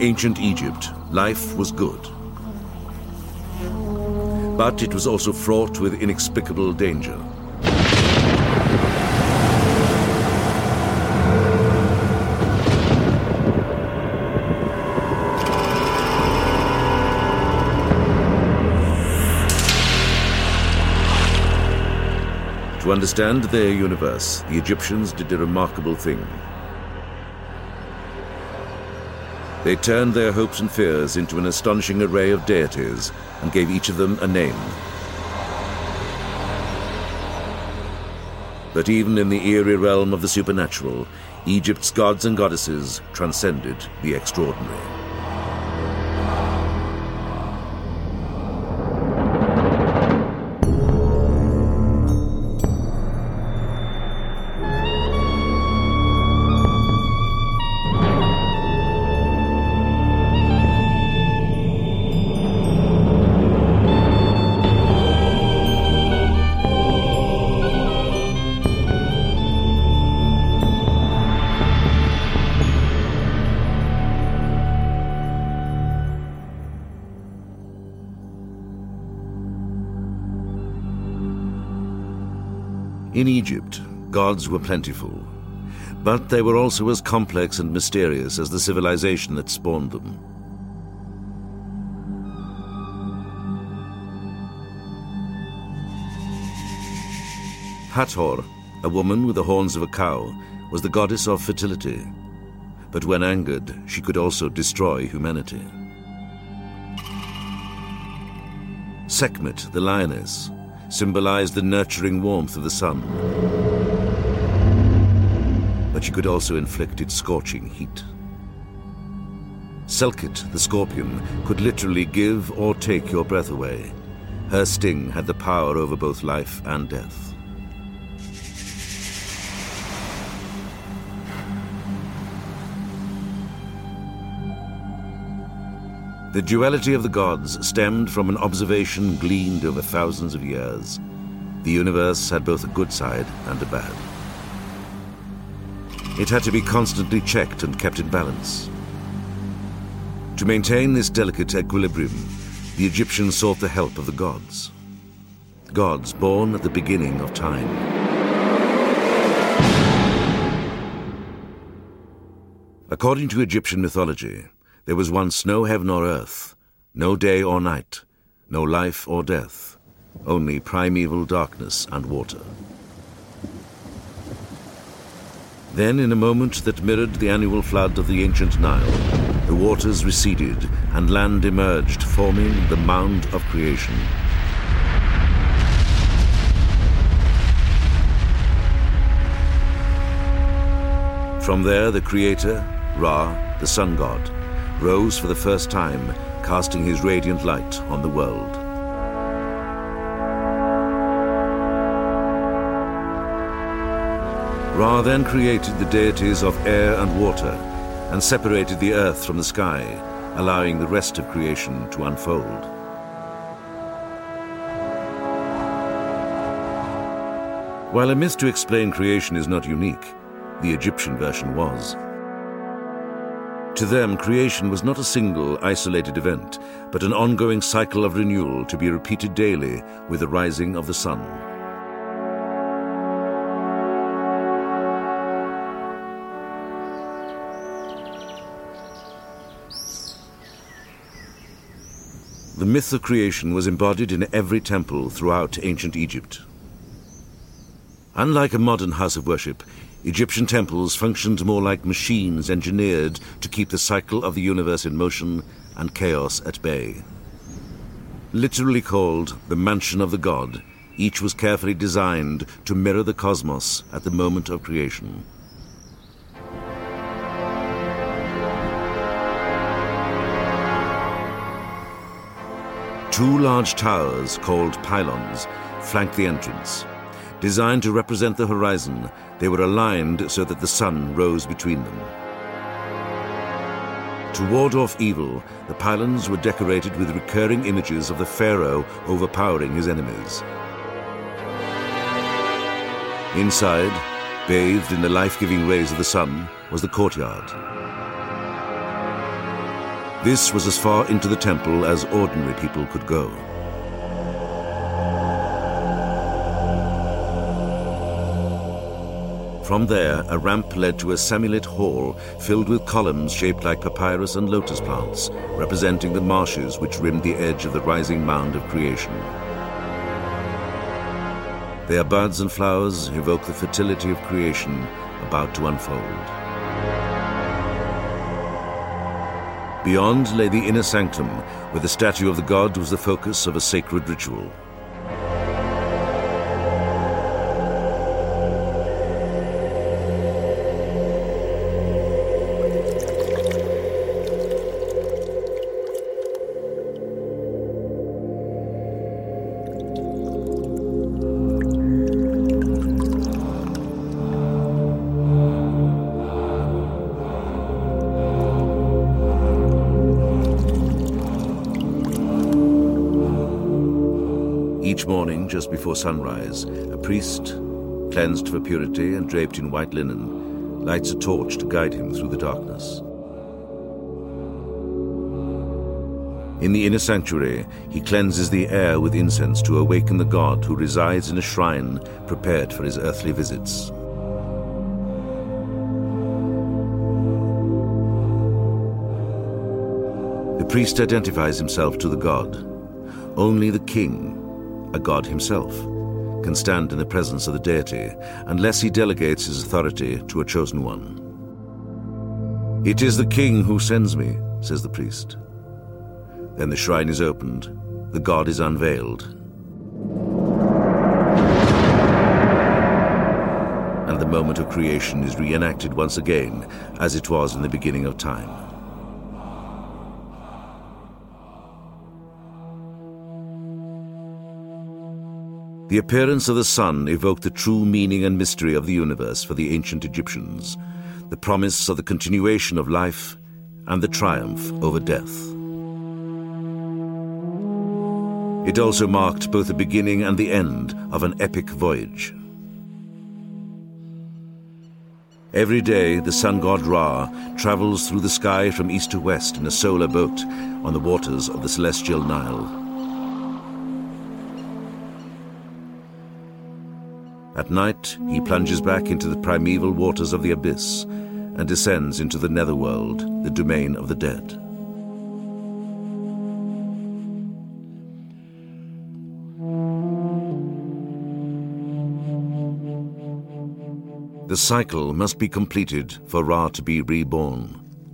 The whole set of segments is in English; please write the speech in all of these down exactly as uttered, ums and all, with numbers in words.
ancient Egypt, life was good. But it was also fraught with inexplicable danger. To understand their universe, the Egyptians did a remarkable thing. They turned their hopes and fears into an astonishing array of deities and gave each of them a name. But even in the eerie realm of the supernatural, Egypt's gods and goddesses transcended the extraordinary. In Egypt, gods were plentiful, but they were also as complex and mysterious as the civilization that spawned them. Hathor, a woman with the horns of a cow, was the goddess of fertility, but when angered, she could also destroy humanity. Sekhmet, the lioness, symbolized the nurturing warmth of the sun, but she could also inflict its scorching heat. Selkit, the scorpion, could literally give or take your breath away. Her sting had the power over both life and death. The duality of the gods stemmed from an observation gleaned over thousands of years. The universe had both a good side and a bad. It had to be constantly checked and kept in balance. To maintain this delicate equilibrium, the Egyptians sought the help of the gods. Gods born at the beginning of time. According to Egyptian mythology, there was once no heaven or earth, no day or night, no life or death, only primeval darkness and water. Then, in a moment that mirrored the annual flood of the ancient Nile, the waters receded and land emerged, forming the mound of creation. From there, the creator, Ra, the sun god, rose for the first time, casting his radiant light on the world. Ra then created the deities of air and water and separated the earth from the sky, allowing the rest of creation to unfold. While a myth to explain creation is not unique, the Egyptian version was. To them, creation was not a single, isolated event, but an ongoing cycle of renewal to be repeated daily with the rising of the sun. The myth of creation was embodied in every temple throughout ancient Egypt. Unlike a modern house of worship, Egyptian temples functioned more like machines engineered to keep the cycle of the universe in motion and chaos at bay. Literally called the Mansion of the God, each was carefully designed to mirror the cosmos at the moment of creation. Two large towers, called pylons, flanked the entrance. Designed to represent the horizon, they were aligned so that the sun rose between them. To ward off evil, the pylons were decorated with recurring images of the pharaoh overpowering his enemies. Inside, bathed in the life-giving rays of the sun, was the courtyard. This was as far into the temple as ordinary people could go. From there, a ramp led to a semi-lit hall filled with columns shaped like papyrus and lotus plants, representing the marshes which rimmed the edge of the rising mound of creation. Their buds and flowers evoke the fertility of creation about to unfold. Beyond lay the inner sanctum, where the statue of the god was the focus of a sacred ritual. Each morning, just before sunrise, a priest, cleansed for purity and draped in white linen, lights a torch to guide him through the darkness. In the inner sanctuary, he cleanses the air with incense to awaken the god who resides in a shrine prepared for his earthly visits. The priest identifies himself to the god. Only the king, a god himself, can stand in the presence of the deity unless he delegates his authority to a chosen one. "It is the king who sends me," says the priest. Then the shrine is opened, the god is unveiled, and the moment of creation is reenacted once again as it was in the beginning of time. The appearance of the sun evoked the true meaning and mystery of the universe for the ancient Egyptians, the promise of the continuation of life and the triumph over death. It also marked both the beginning and the end of an epic voyage. Every day, the sun god Ra travels through the sky from east to west in a solar boat on the waters of the celestial Nile. At night, he plunges back into the primeval waters of the abyss and descends into the netherworld, the domain of the dead. The cycle must be completed for Ra to be reborn.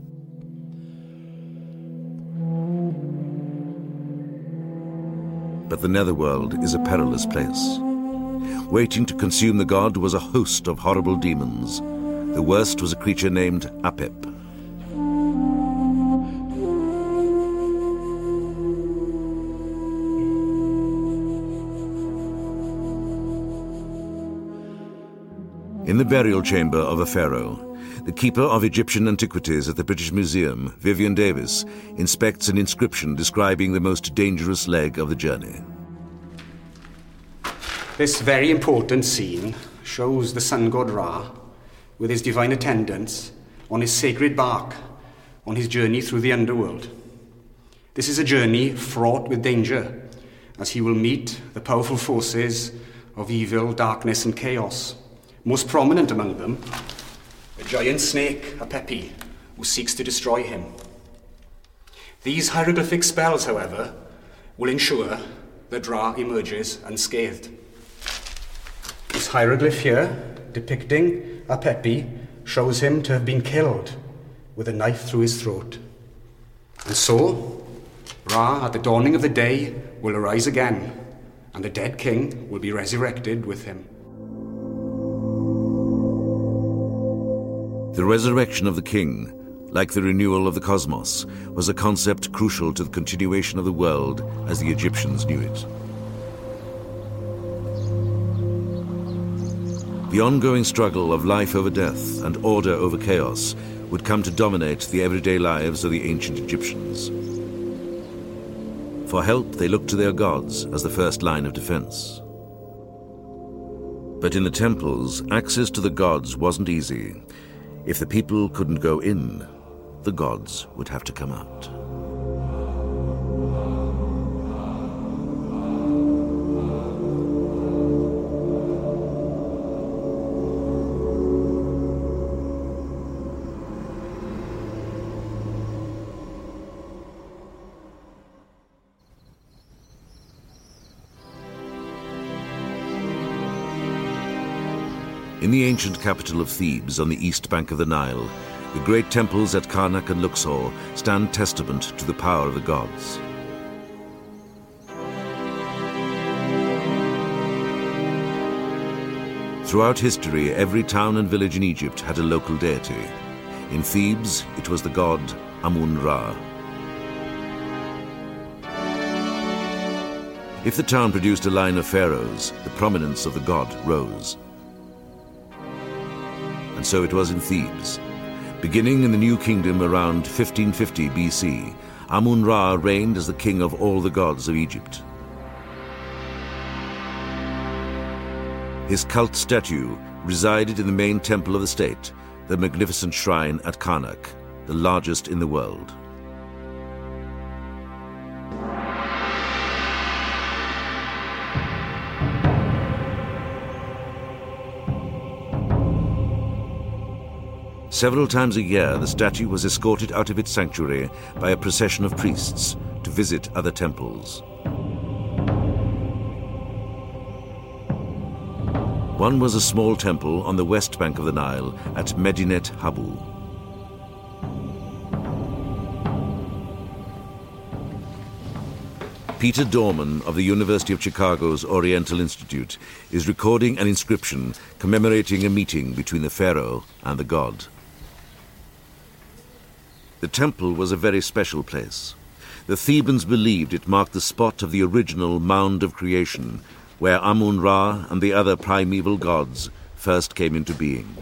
But the netherworld is a perilous place. Waiting to consume the god was a host of horrible demons. The worst was a creature named Apep. In the burial chamber of a pharaoh, the keeper of Egyptian antiquities at the British Museum, Vivian Davis, inspects an inscription describing the most dangerous leg of the journey. This very important scene shows the sun god Ra with his divine attendants on his sacred bark on his journey through the underworld. This is a journey fraught with danger, as he will meet the powerful forces of evil, darkness and chaos. Most prominent among them, a giant snake, Apepi, who seeks to destroy him. These hieroglyphic spells, however, will ensure that Ra emerges unscathed. This hieroglyph here, depicting Apepi, shows him to have been killed with a knife through his throat. And so, Ra, at the dawning of the day, will arise again, and the dead king will be resurrected with him. The resurrection of the king, like the renewal of the cosmos, was a concept crucial to the continuation of the world as the Egyptians knew it. The ongoing struggle of life over death and order over chaos would come to dominate the everyday lives of the ancient Egyptians. For help, they looked to their gods as the first line of defense. But in the temples, access to the gods wasn't easy. If the people couldn't go in, the gods would have to come out. In the ancient capital of Thebes on the east bank of the Nile, the great temples at Karnak and Luxor stand testament to the power of the gods. Throughout history, every town and village in Egypt had a local deity. In Thebes, it was the god Amun-Ra. If the town produced a line of pharaohs, the prominence of the god rose. And so it was in Thebes. Beginning in the New Kingdom around fifteen fifty B C, Amun-Ra reigned as the king of all the gods of Egypt. His cult statue resided in the main temple of the state, the magnificent shrine at Karnak, the largest in the world. Several times a year, the statue was escorted out of its sanctuary by a procession of priests to visit other temples. One was a small temple on the west bank of the Nile at Medinet Habu. Peter Dorman of the University of Chicago's Oriental Institute is recording an inscription commemorating a meeting between the pharaoh and the god. The temple was a very special place. The Thebans believed it marked the spot of the original mound of creation, where Amun-Ra and the other primeval gods first came into being.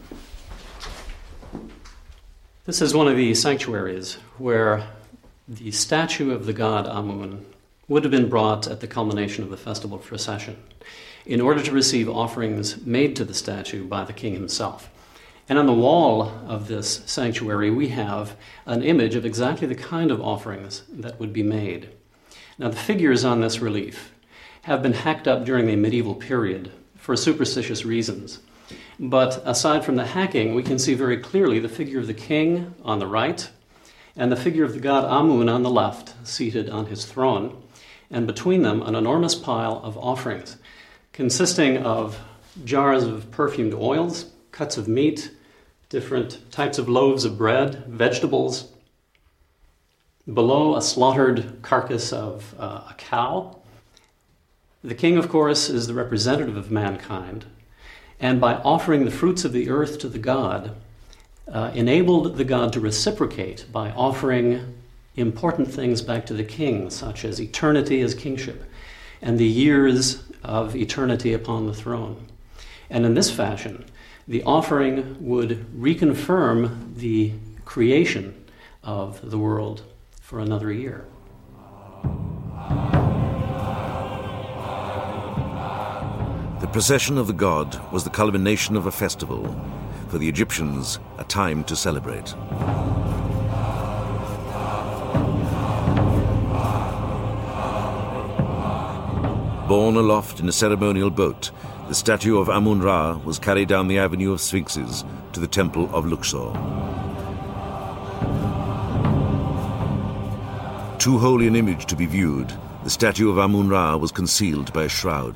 This is one of the sanctuaries where the statue of the god Amun would have been brought at the culmination of the festival procession in order to receive offerings made to the statue by the king himself. And on the wall of this sanctuary, we have an image of exactly the kind of offerings that would be made. Now, the figures on this relief have been hacked up during the medieval period for superstitious reasons. But aside from the hacking, we can see very clearly the figure of the king on the right and the figure of the god Amun on the left, seated on his throne, and between them an enormous pile of offerings consisting of jars of perfumed oils, cuts of meat, different types of loaves of bread, vegetables. Below, a slaughtered carcass of uh, a cow. The king, of course, is the representative of mankind, and by offering the fruits of the earth to the god, uh, enabled the god to reciprocate by offering important things back to the king, such as eternity as kingship and the years of eternity upon the throne. And in this fashion, the offering would reconfirm the creation of the world for another year. The procession of the god was the culmination of a festival, for the Egyptians, a time to celebrate. Borne aloft in a ceremonial boat, the statue of Amun-Ra was carried down the avenue of sphinxes to the temple of Luxor. Too holy an image to be viewed, the statue of Amun-Ra was concealed by a shroud.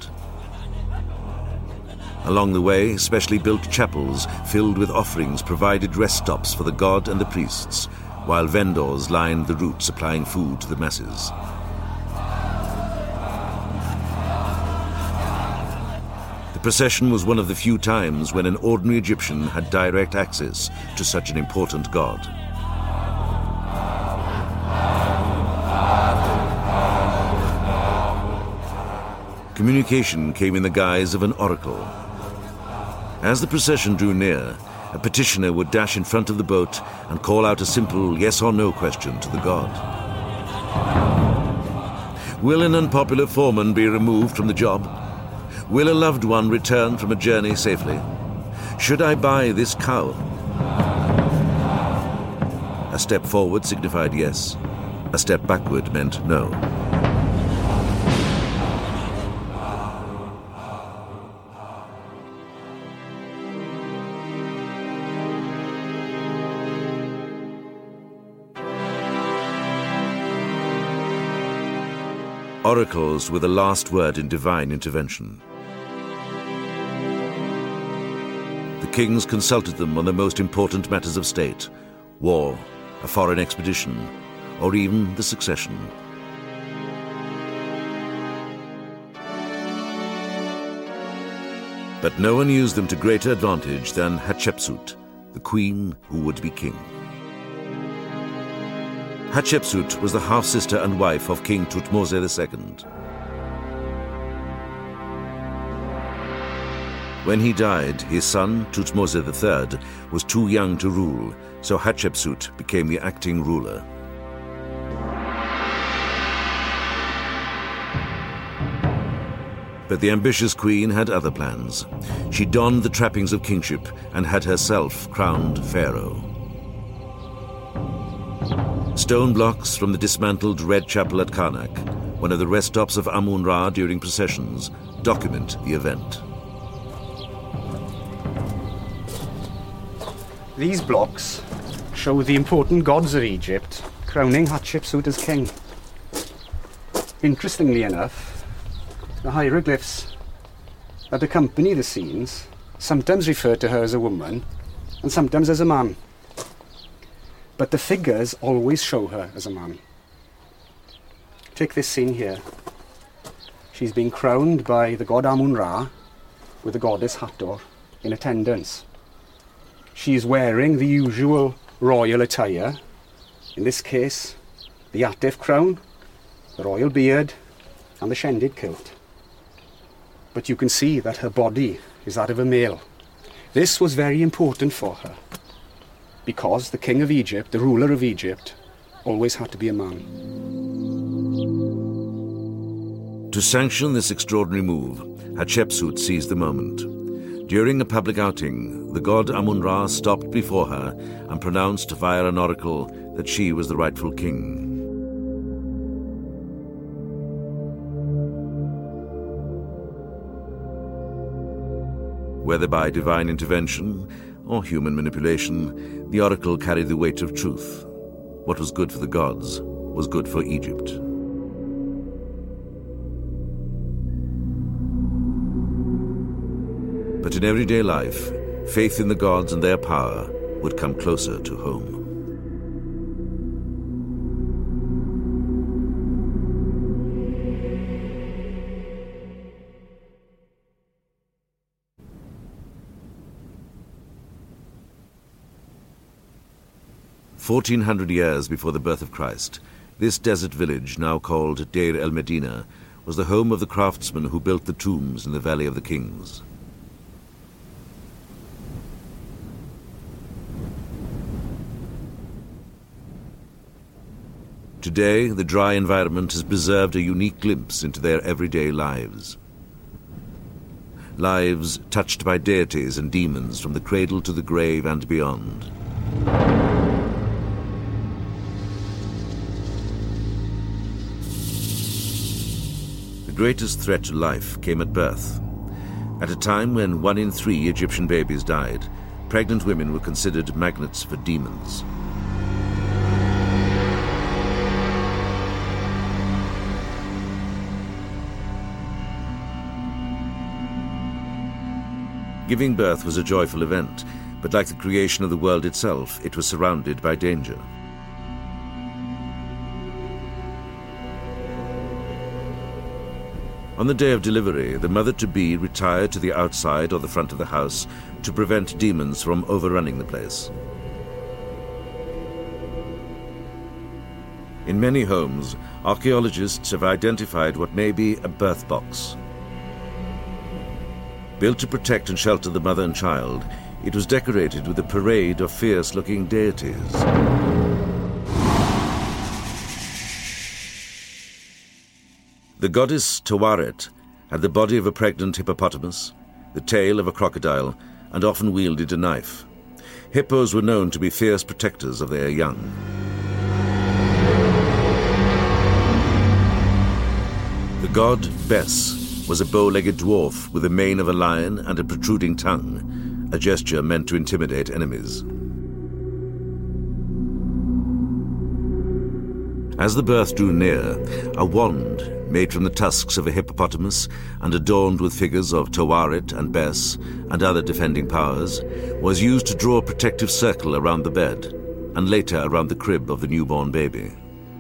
Along the way, specially built chapels filled with offerings provided rest stops for the god and the priests, while vendors lined the route supplying food to the masses. The procession was one of the few times when an ordinary Egyptian had direct access to such an important god. Communication came in the guise of an oracle. As the procession drew near, a petitioner would dash in front of the boat and call out a simple yes or no question to the god. Will an unpopular foreman be removed from the job? Will a loved one return from a journey safely? Should I buy this cow? A step forward signified yes. A step backward meant no. Oracles were the last word in divine intervention. kings consulted them on the most important matters of state: war, a foreign expedition, or even the succession. But no one used them to greater advantage than Hatshepsut, the queen who would be king. Hatshepsut was the half-sister and wife of King Thutmose the Second. When he died, his son, Thutmose the Third, was too young to rule, so Hatshepsut became the acting ruler. But the ambitious queen had other plans. She donned the trappings of kingship and had herself crowned pharaoh. Stone blocks from the dismantled Red Chapel at Karnak, one of the rest stops of Amun-Ra during processions, document the event. These blocks show the important gods of Egypt crowning Hatshepsut as king. Interestingly enough, the hieroglyphs that accompany the scenes sometimes refer to her as a woman and sometimes as a man. But the figures always show her as a man. Take this scene here. She's being crowned by the god Amun-Ra with the goddess Hathor in attendance. She is wearing the usual royal attire, in this case the Atef crown, the royal beard and the Shendid kilt. But you can see that her body is that of a male. This was very important for her, because the king of Egypt, the ruler of Egypt, always had to be a man. To sanction this extraordinary move, Hatshepsut seized the moment. During a public outing, the god Amun-Ra stopped before her and pronounced via an oracle that she was the rightful king. Whether by divine intervention or human manipulation, the oracle carried the weight of truth. What was good for the gods was good for Egypt. But in everyday life, faith in the gods and their power would come closer to home. Fourteen hundred years before the birth of Christ, this desert village, now called Deir el-Medina, was the home of the craftsmen who built the tombs in the Valley of the Kings. Today, the dry environment has preserved a unique glimpse into their everyday lives. Lives touched by deities and demons from the cradle to the grave and beyond. The greatest threat to life came at birth. At a time when one in three Egyptian babies died, pregnant women were considered magnets for demons. Giving birth was a joyful event, but like the creation of the world itself, it was surrounded by danger. On the day of delivery, the mother-to-be retired to the outside or the front of the house to prevent demons from overrunning the place. In many homes, archaeologists have identified what may be a birth box. Built to protect and shelter the mother and child, it was decorated with a parade of fierce-looking deities. The goddess Tawaret had the body of a pregnant hippopotamus, the tail of a crocodile, and often wielded a knife. Hippos were known to be fierce protectors of their young. The god Bes was a bow-legged dwarf with the mane of a lion and a protruding tongue, a gesture meant to intimidate enemies. As the birth drew near, a wand, made from the tusks of a hippopotamus and adorned with figures of Tawaret and Bes and other defending powers, was used to draw a protective circle around the bed, and later around the crib of the newborn baby.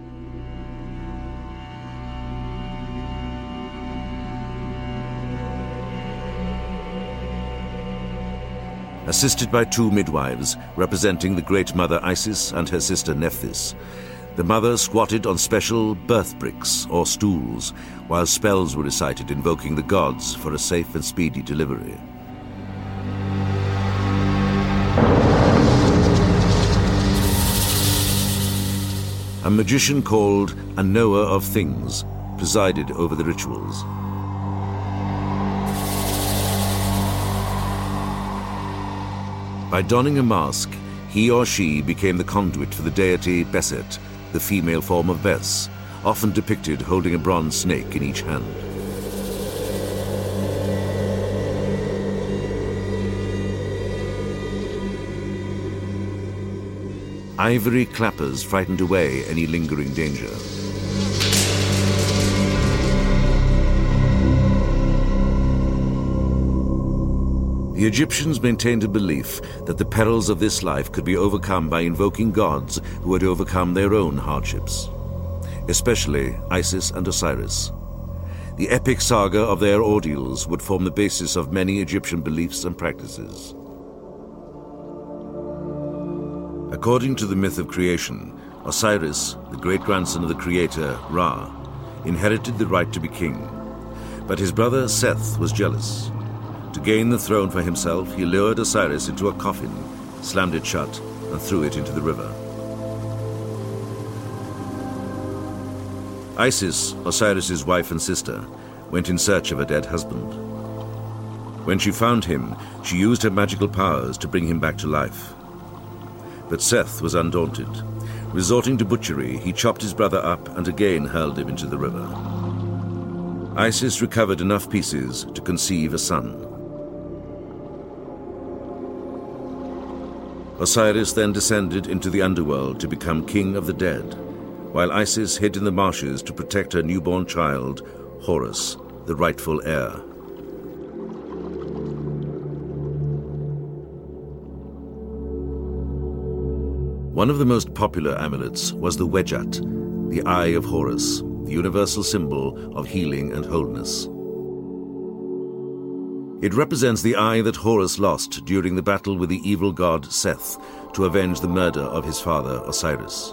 Assisted by two midwives representing the Great Mother Isis and her sister Nephthys, the mother squatted on special birth bricks or stools while spells were recited invoking the gods for a safe and speedy delivery. A magician called a knower of things presided over the rituals. By donning a mask, he or she became the conduit for the deity Beset, the female form of Bes, often depicted holding a bronze snake in each hand. Ivory clappers frightened away any lingering danger. The Egyptians maintained a belief that the perils of this life could be overcome by invoking gods who had overcome their own hardships, especially Isis and Osiris. The epic saga of their ordeals would form the basis of many Egyptian beliefs and practices. According to the myth of creation, Osiris, the great-grandson of the creator Ra, inherited the right to be king, but his brother Seth was jealous. To gain the throne for himself, he lured Osiris into a coffin, slammed it shut, and threw it into the river. Isis, Osiris's wife and sister, went in search of her dead husband. When she found him, she used her magical powers to bring him back to life. But Seth was undaunted. Resorting to butchery, he chopped his brother up and again hurled him into the river. Isis recovered enough pieces to conceive a son. Osiris then descended into the underworld to become king of the dead, while Isis hid in the marshes to protect her newborn child, Horus, the rightful heir. One of the most popular amulets was the Wedjat, the Eye of Horus, the universal symbol of healing and wholeness. It represents the eye that Horus lost during the battle with the evil god Seth to avenge the murder of his father Osiris.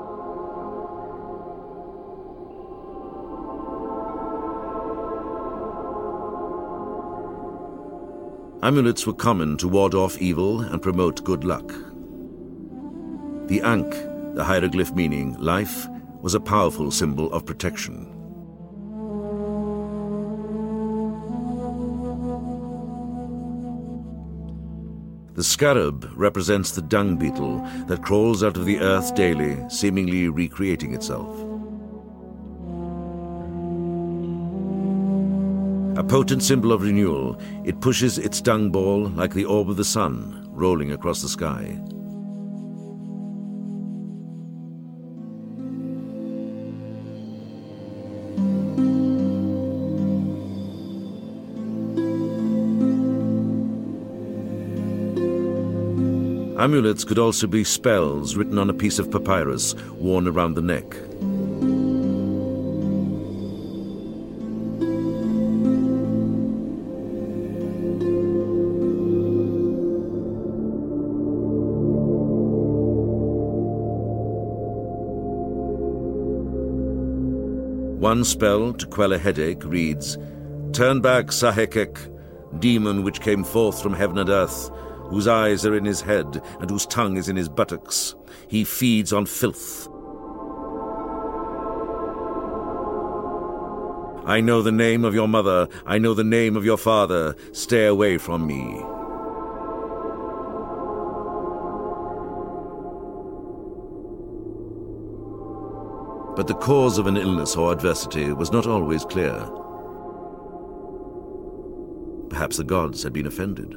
Amulets were common to ward off evil and promote good luck. The Ankh, the hieroglyph meaning life, was a powerful symbol of protection. The scarab represents the dung beetle that crawls out of the earth daily, seemingly recreating itself. A potent symbol of renewal, it pushes its dung ball like the orb of the sun, rolling across the sky. Amulets could also be spells written on a piece of papyrus worn around the neck. One spell to quell a headache reads, "Turn back, Sahekek, demon which came forth from heaven and earth, whose eyes are in his head and whose tongue is in his buttocks. He feeds on filth. I know the name of your mother, I know the name of your father. Stay away from me." But the cause of an illness or adversity was not always clear. Perhaps the gods had been offended.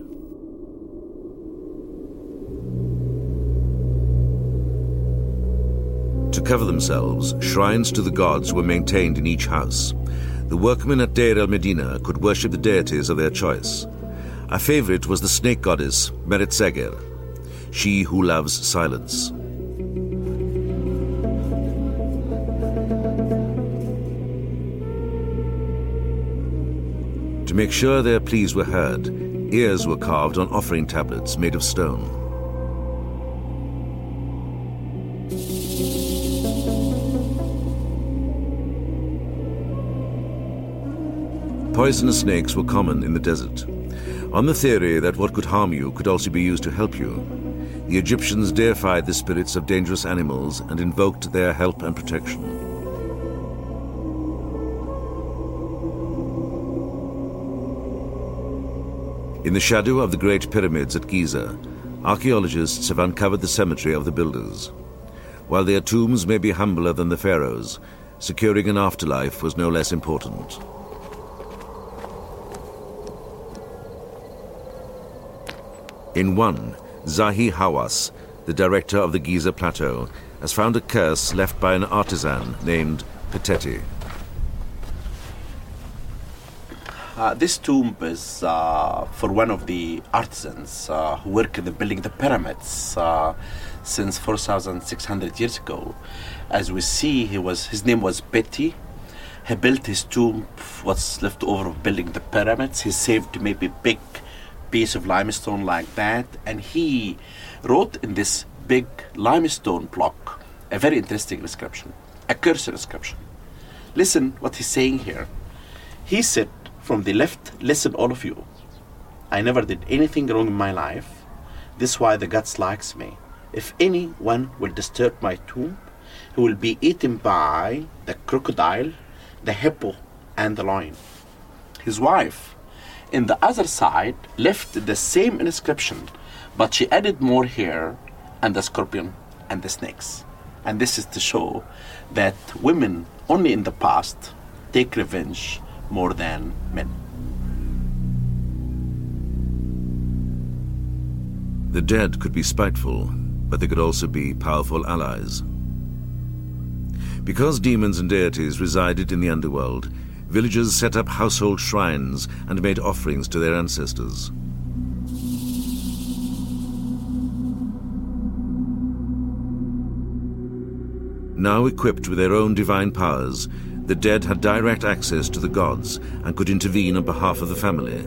To cover themselves, shrines to the gods were maintained in each house. The workmen at Deir el-Medina could worship the deities of their choice. A favorite was the snake goddess, Meret Seger, she who loves silence. To make sure their pleas were heard, ears were carved on offering tablets made of stone. Poisonous snakes were common in the desert. On the theory that what could harm you could also be used to help you, the Egyptians deified the spirits of dangerous animals and invoked their help and protection. In the shadow of the Great Pyramids at Giza, archaeologists have uncovered the cemetery of the builders. While their tombs may be humbler than the pharaohs, securing an afterlife was no less important. In one, Zahi Hawass, the director of the Giza Plateau, has found a curse left by an artisan named Peteti. Uh, this tomb is uh, for one of the artisans uh, who worked in the building the pyramids uh, since four thousand six hundred years ago. As we see, he was his name was Peti. He built his tomb, what's left over of building the pyramids. He saved maybe big piece of limestone like that, and he wrote in this big limestone block a very interesting inscription, a curse inscription. Listen what he's saying here. He said, from the left, listen all of you. I never did anything wrong in my life. This is why the gods likes me. If anyone will disturb my tomb, he will be eaten by the crocodile, the hippo, and the lion. His wife, in the other side, left the same inscription, but she added more hair and the scorpion and the snakes. And this is to show that women only in the past take revenge more than men. The dead could be spiteful, but they could also be powerful allies. Because demons and deities resided in the underworld, villagers set up household shrines and made offerings to their ancestors. Now equipped with their own divine powers, the dead had direct access to the gods and could intervene on behalf of the family.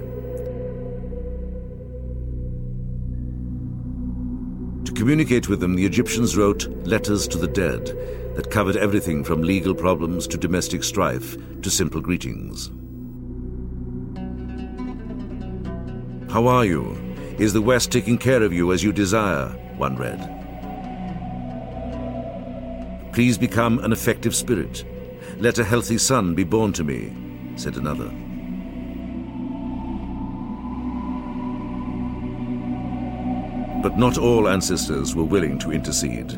To communicate with them, the Egyptians wrote letters to the dead that covered everything from legal problems to domestic strife to simple greetings. How are you? Is the West taking care of you as you desire? One read. Please become an effective spirit. Let a healthy son be born to me, said another. But not all ancestors were willing to intercede.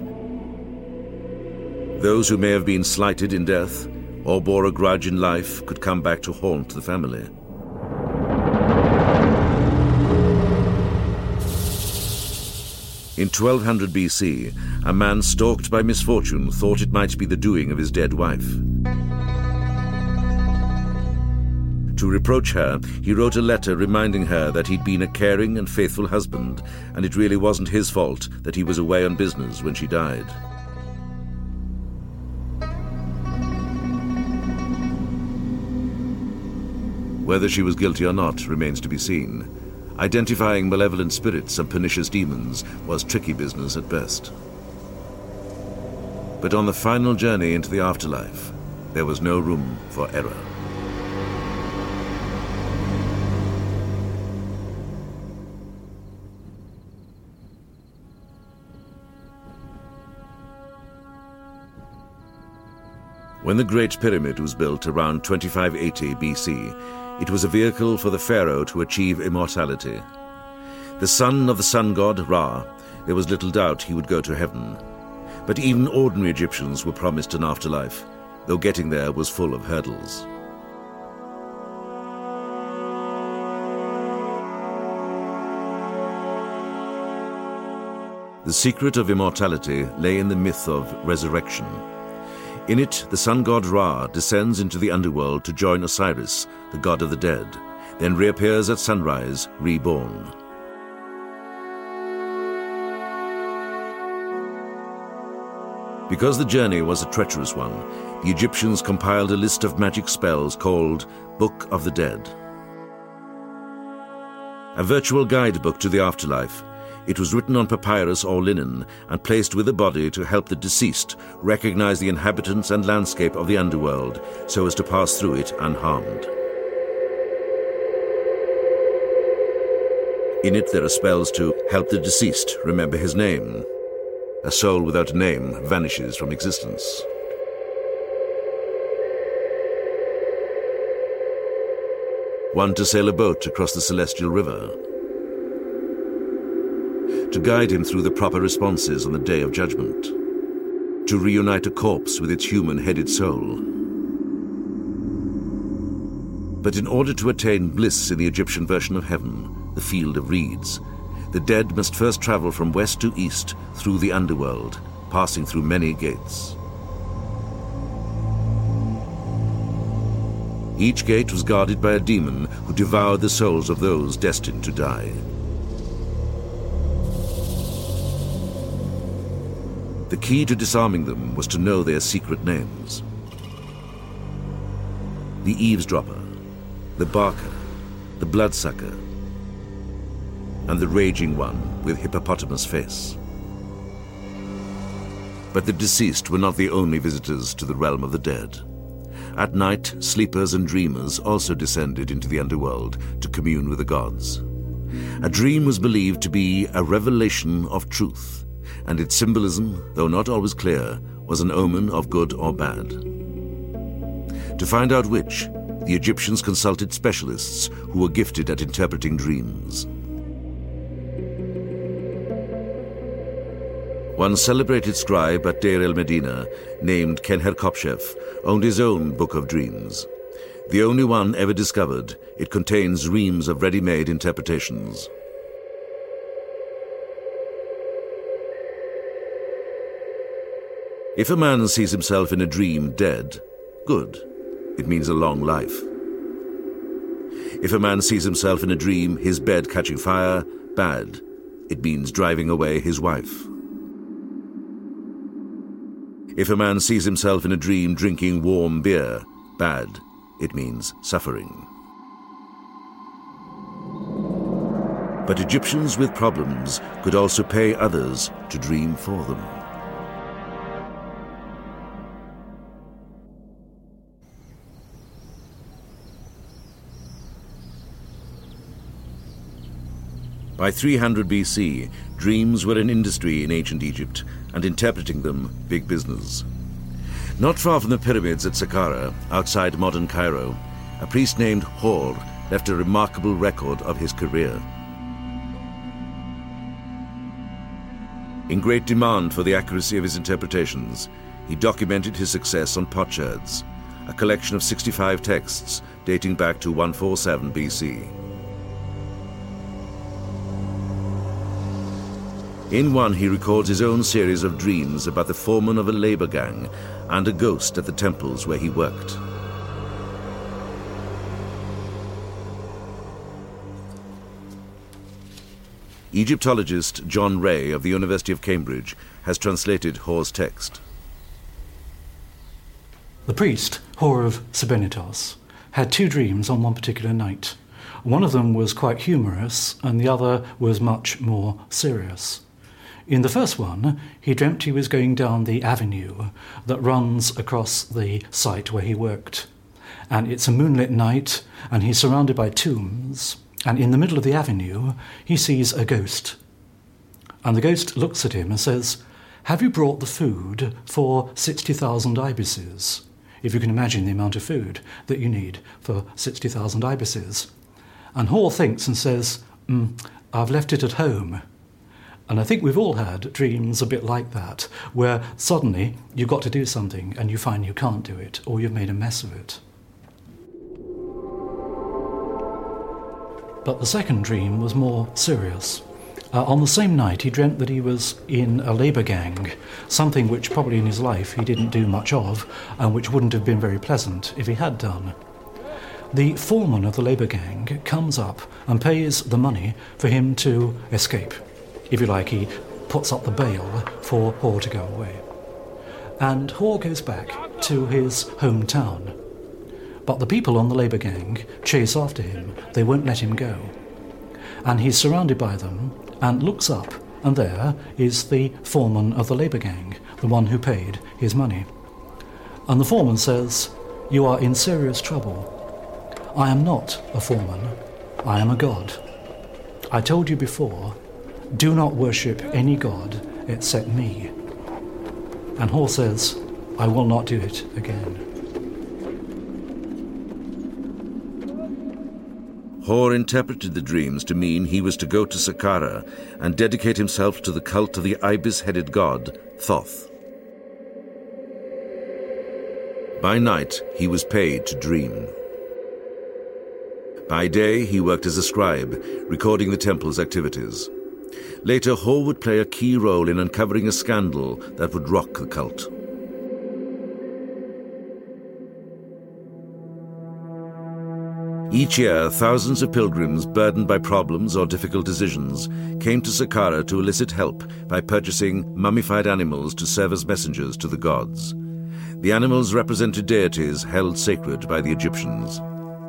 Those who may have been slighted in death or bore a grudge in life could come back to haunt the family. In twelve hundred B C, a man stalked by misfortune thought it might be the doing of his dead wife. To reproach her, he wrote a letter reminding her that he'd been a caring and faithful husband, and it really wasn't his fault that he was away on business when she died. Whether she was guilty or not remains to be seen. Identifying malevolent spirits and pernicious demons was tricky business at best. But on the final journey into the afterlife, there was no room for error. When the Great Pyramid was built around twenty-five eighty B C, it was a vehicle for the pharaoh to achieve immortality. The son of the sun god Ra, there was little doubt he would go to heaven. But even ordinary Egyptians were promised an afterlife, though getting there was full of hurdles. The secret of immortality lay in the myth of resurrection. In it, the sun god Ra descends into the underworld to join Osiris, the god of the dead, then reappears at sunrise, reborn. Because the journey was a treacherous one, the Egyptians compiled a list of magic spells called Book of the Dead. A virtual guidebook to the afterlife, it was written on papyrus or linen and placed with the body to help the deceased recognize the inhabitants and landscape of the underworld so as to pass through it unharmed. In it there are spells to help the deceased remember his name. A soul without a name vanishes from existence. One to sail a boat across the celestial river. To guide him through the proper responses on the day of judgment. To reunite a corpse with its human-headed soul. But in order to attain bliss in the Egyptian version of heaven, the Field of Reeds, the dead must first travel from west to east through the underworld, passing through many gates. Each gate was guarded by a demon who devoured the souls of those destined to die. The key to disarming them was to know their secret names. The eavesdropper, the barker, the bloodsucker, and the raging one with hippopotamus face. But the deceased were not the only visitors to the realm of the dead. At night, sleepers and dreamers also descended into the underworld to commune with the gods. A dream was believed to be a revelation of truth, and its symbolism, though not always clear, was an omen of good or bad. To find out which, the Egyptians consulted specialists who were gifted at interpreting dreams. One celebrated scribe at Deir el-Medina, named Khenher-Kopshef, owned his own Book of Dreams. The only one ever discovered, it contains reams of ready-made interpretations. If a man sees himself in a dream dead, good. It means a long life. If a man sees himself in a dream, his bed catching fire, bad. It means driving away his wife. If a man sees himself in a dream drinking warm beer, bad. It means suffering. But Egyptians with problems could also pay others to dream for them. By three hundred B C, dreams were an industry in ancient Egypt, and interpreting them, big business. Not far from the pyramids at Saqqara, outside modern Cairo, a priest named Hor left a remarkable record of his career. In great demand for the accuracy of his interpretations, he documented his success on potsherds, a collection of sixty-five texts dating back to one forty-seven B C. In one, he records his own series of dreams about the foreman of a labor gang and a ghost at the temples where he worked. Egyptologist John Ray of the University of Cambridge has translated Hor's text. The priest, Hor of Sebennytos, had two dreams on one particular night. One of them was quite humorous, and the other was much more serious. In the first one, he dreamt he was going down the avenue that runs across the site where he worked. And it's a moonlit night, and he's surrounded by tombs, and in the middle of the avenue, he sees a ghost. And the ghost looks at him and says, "Have you brought the food for sixty thousand ibises?" If you can imagine the amount of food that you need for sixty thousand ibises. And Hor thinks and says, mm, "I've left it at home." And I think we've all had dreams a bit like that, where suddenly you've got to do something and you find you can't do it, or you've made a mess of it. But the second dream was more serious. Uh, on the same night, he dreamt that he was in a labour gang, something which probably in his life he didn't do much of, and which wouldn't have been very pleasant if he had done. The foreman of the labour gang comes up and pays the money for him to escape. If you like, he puts up the bail for Hor to go away. And Hor goes back to his hometown. But the people on the labour gang chase after him. They won't let him go. And he's surrounded by them and looks up, and there is the foreman of the labour gang, the one who paid his money. And the foreman says, "You are in serious trouble. I am not a foreman. I am a god. I told you before, do not worship any god except me." And Hor says, "I will not do it again." Hor interpreted the dreams to mean he was to go to Saqqara and dedicate himself to the cult of the ibis-headed god, Thoth. By night, he was paid to dream. By day, he worked as a scribe, recording the temple's activities. Later, Hor would play a key role in uncovering a scandal that would rock the cult. Each year, thousands of pilgrims burdened by problems or difficult decisions came to Saqqara to elicit help by purchasing mummified animals to serve as messengers to the gods. The animals represented deities held sacred by the Egyptians.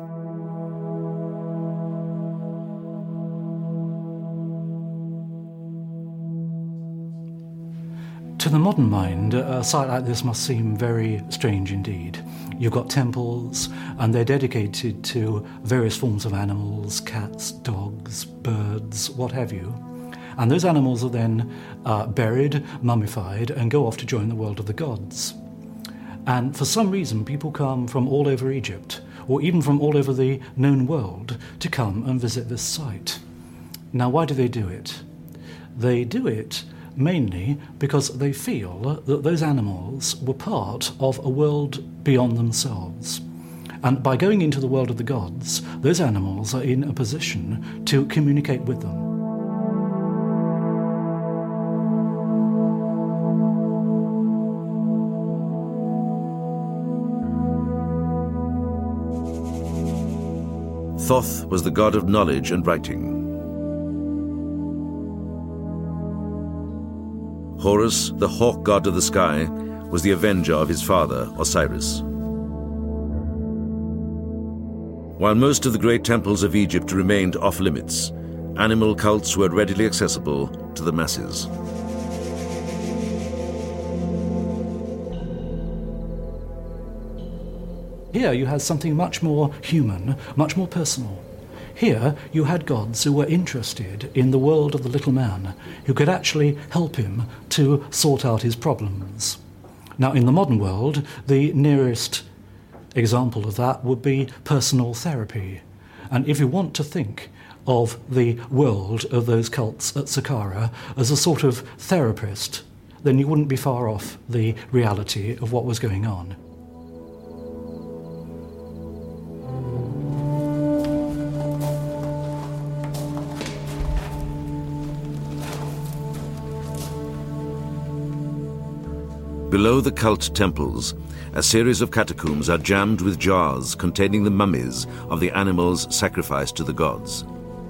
To the modern mind, a site like this must seem very strange indeed. You've got temples, and they're dedicated to various forms of animals, cats, dogs, birds, what have you. And those animals are then uh, buried, mummified, and go off to join the world of the gods. And for some reason, people come from all over Egypt, or even from all over the known world, to come and visit this site. Now, why do they do it? They do it mainly because they feel that those animals were part of a world beyond themselves. And by going into the world of the gods, those animals are in a position to communicate with them. Thoth was the god of knowledge and writing. Horus, the hawk god of the sky, was the avenger of his father, Osiris. While most of the great temples of Egypt remained off-limits, animal cults were readily accessible to the masses. Here you had something much more human, much more personal. Here you had gods who were interested in the world of the little man, who could actually help him to sort out his problems. Now, in the modern world, the nearest example of that would be personal therapy. And if you want to think of the world of those cults at Saqqara as a sort of therapist, then you wouldn't be far off the reality of what was going on. Below the cult temples, a series of catacombs are jammed with jars containing the mummies of the animals sacrificed to the gods.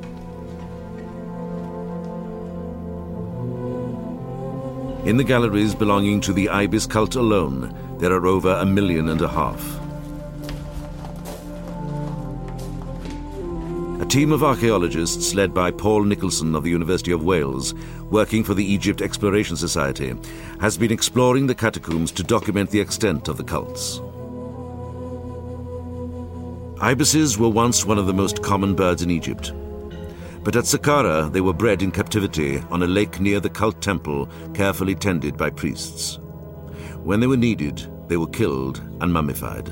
In the galleries belonging to the Ibis cult alone, there are over a million and a half. A team of archaeologists led by Paul Nicholson of the University of Wales, working for the Egypt Exploration Society, has been exploring the catacombs to document the extent of the cults. Ibises were once one of the most common birds in Egypt. But at Saqqara, they were bred in captivity on a lake near the cult temple, carefully tended by priests. When they were needed, they were killed and mummified.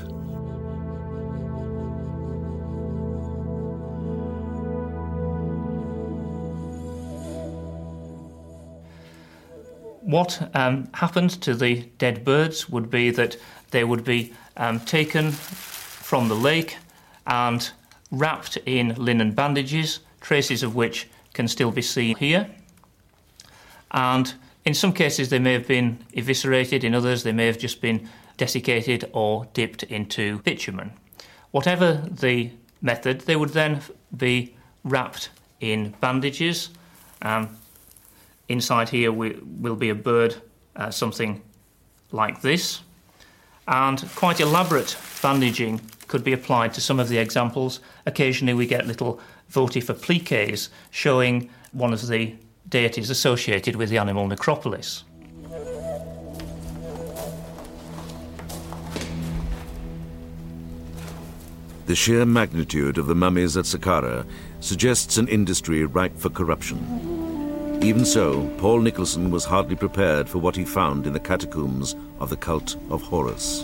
What um, happened to the dead birds would be that they would be um, taken from the lake and wrapped in linen bandages, traces of which can still be seen here. and in some cases they may have been eviscerated, in others they may have just been desiccated or dipped into bitumen. Whatever the method, they would then be wrapped in bandages. Um, inside here we, will be a bird, uh, something like this, and quite elaborate bandaging could be applied to some of the examples. Occasionally we get little votive appliques showing one of the deities associated with the animal necropolis. The sheer magnitude of the mummies at Saqqara suggests an industry ripe for corruption. Even so, Paul Nicholson was hardly prepared for what he found in the catacombs of the cult of Horus.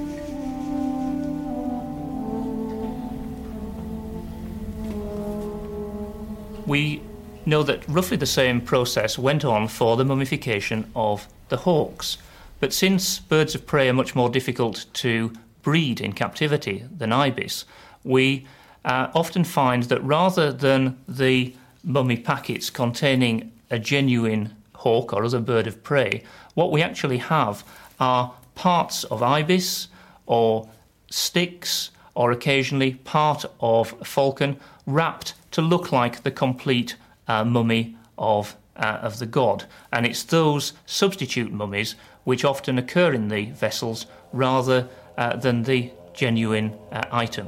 We know that roughly the same process went on for the mummification of the hawks. But since birds of prey are much more difficult to breed in captivity than ibis, we uh, often find that rather than the mummy packets containing a genuine hawk or other bird of prey, what we actually have are parts of ibis or sticks or occasionally part of a falcon wrapped to look like the complete uh, mummy of, uh, of the god. And it's those substitute mummies which often occur in the vessels rather uh, than the genuine uh, item.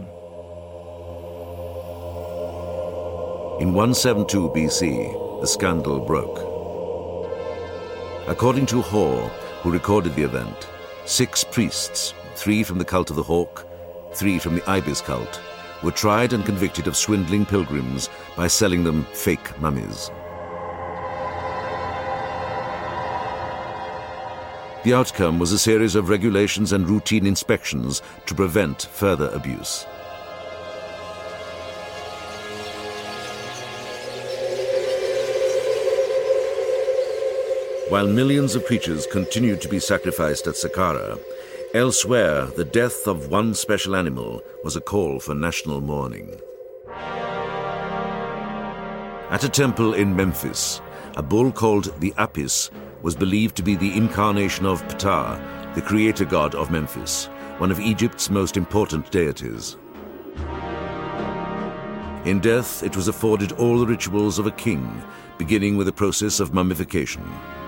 In one seventy-two B C, the scandal broke. According to Hor, who recorded the event, six priests, three from the cult of the hawk, three from the ibis cult, were tried and convicted of swindling pilgrims by selling them fake mummies. The outcome was a series of regulations and routine inspections to prevent further abuse. While millions of creatures continued to be sacrificed at Saqqara, elsewhere the death of one special animal was a call for national mourning. At a temple in Memphis, a bull called the Apis was believed to be the incarnation of Ptah, the creator god of Memphis, one of Egypt's most important deities. In death, it was afforded all the rituals of a king, beginning with the process of mummification.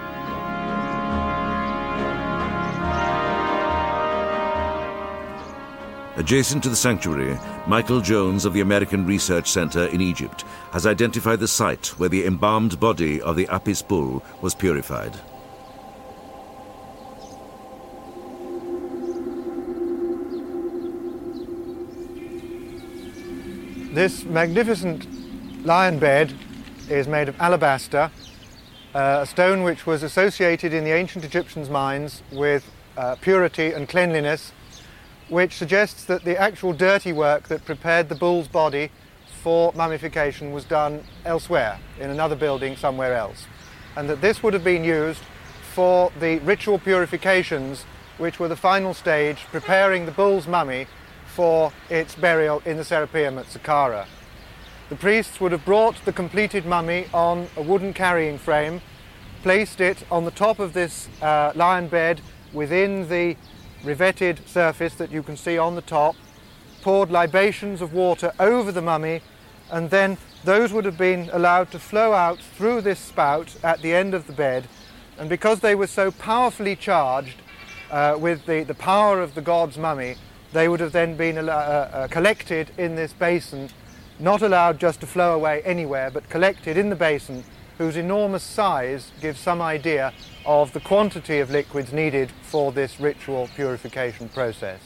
Adjacent to the sanctuary, Michael Jones of the American Research Center in Egypt has identified the site where the embalmed body of the Apis bull was purified. This magnificent lion bed is made of alabaster, uh, a stone which was associated in the ancient Egyptians' minds with uh, purity and cleanliness, which suggests that the actual dirty work that prepared the bull's body for mummification was done elsewhere, in another building somewhere else, and that this would have been used for the ritual purifications which were the final stage, preparing the bull's mummy for its burial in the Serapeum at Saqqara. The priests would have brought the completed mummy on a wooden carrying frame, placed it on the top of this uh, lion bed within the riveted surface that you can see on the top, poured libations of water over the mummy, and then those would have been allowed to flow out through this spout at the end of the bed. And because they were so powerfully charged uh, with the, the power of the god's mummy, they would have then been uh, uh, collected in this basin, not allowed just to flow away anywhere, but collected in the basin, whose enormous size gives some idea of the quantity of liquids needed for this ritual purification process.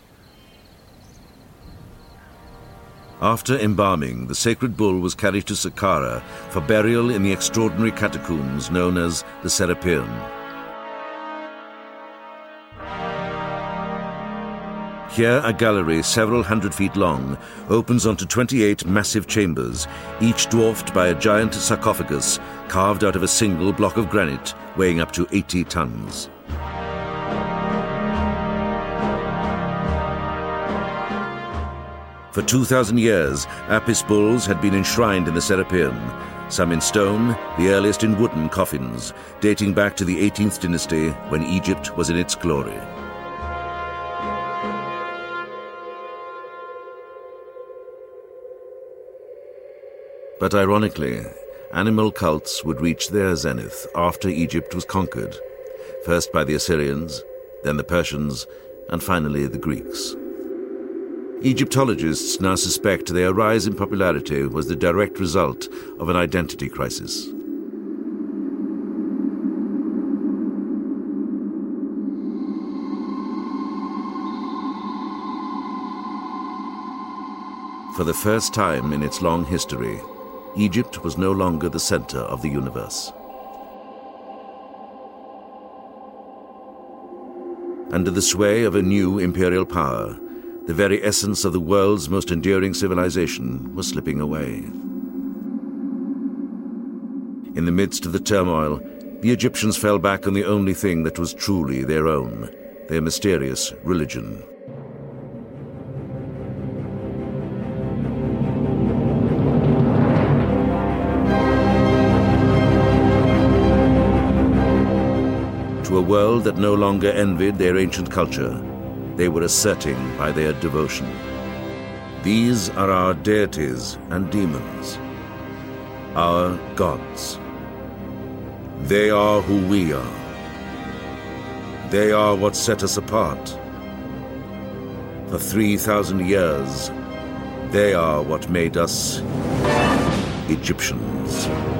After embalming, the sacred bull was carried to Saqqara for burial in the extraordinary catacombs known as the Serapeum. Here, a gallery several hundred feet long opens onto twenty-eight massive chambers, each dwarfed by a giant sarcophagus carved out of a single block of granite weighing up to eighty tons. For two thousand years, Apis bulls had been enshrined in the Serapeum, some in stone, the earliest in wooden coffins, dating back to the eighteenth dynasty when Egypt was in its glory. But ironically, animal cults would reach their zenith after Egypt was conquered, first by the Assyrians, then the Persians, and finally the Greeks. Egyptologists now suspect their rise in popularity was the direct result of an identity crisis. For the first time in its long history, Egypt was no longer the center of the universe. Under the sway of a new imperial power, the very essence of the world's most enduring civilization was slipping away. In the midst of the turmoil, the Egyptians fell back on the only thing that was truly their own, their mysterious religion. To a world that no longer envied their ancient culture, they were asserting by their devotion. These are our deities and demons, our gods. They are who we are. They are what set us apart. For three thousand years, they are what made us Egyptians.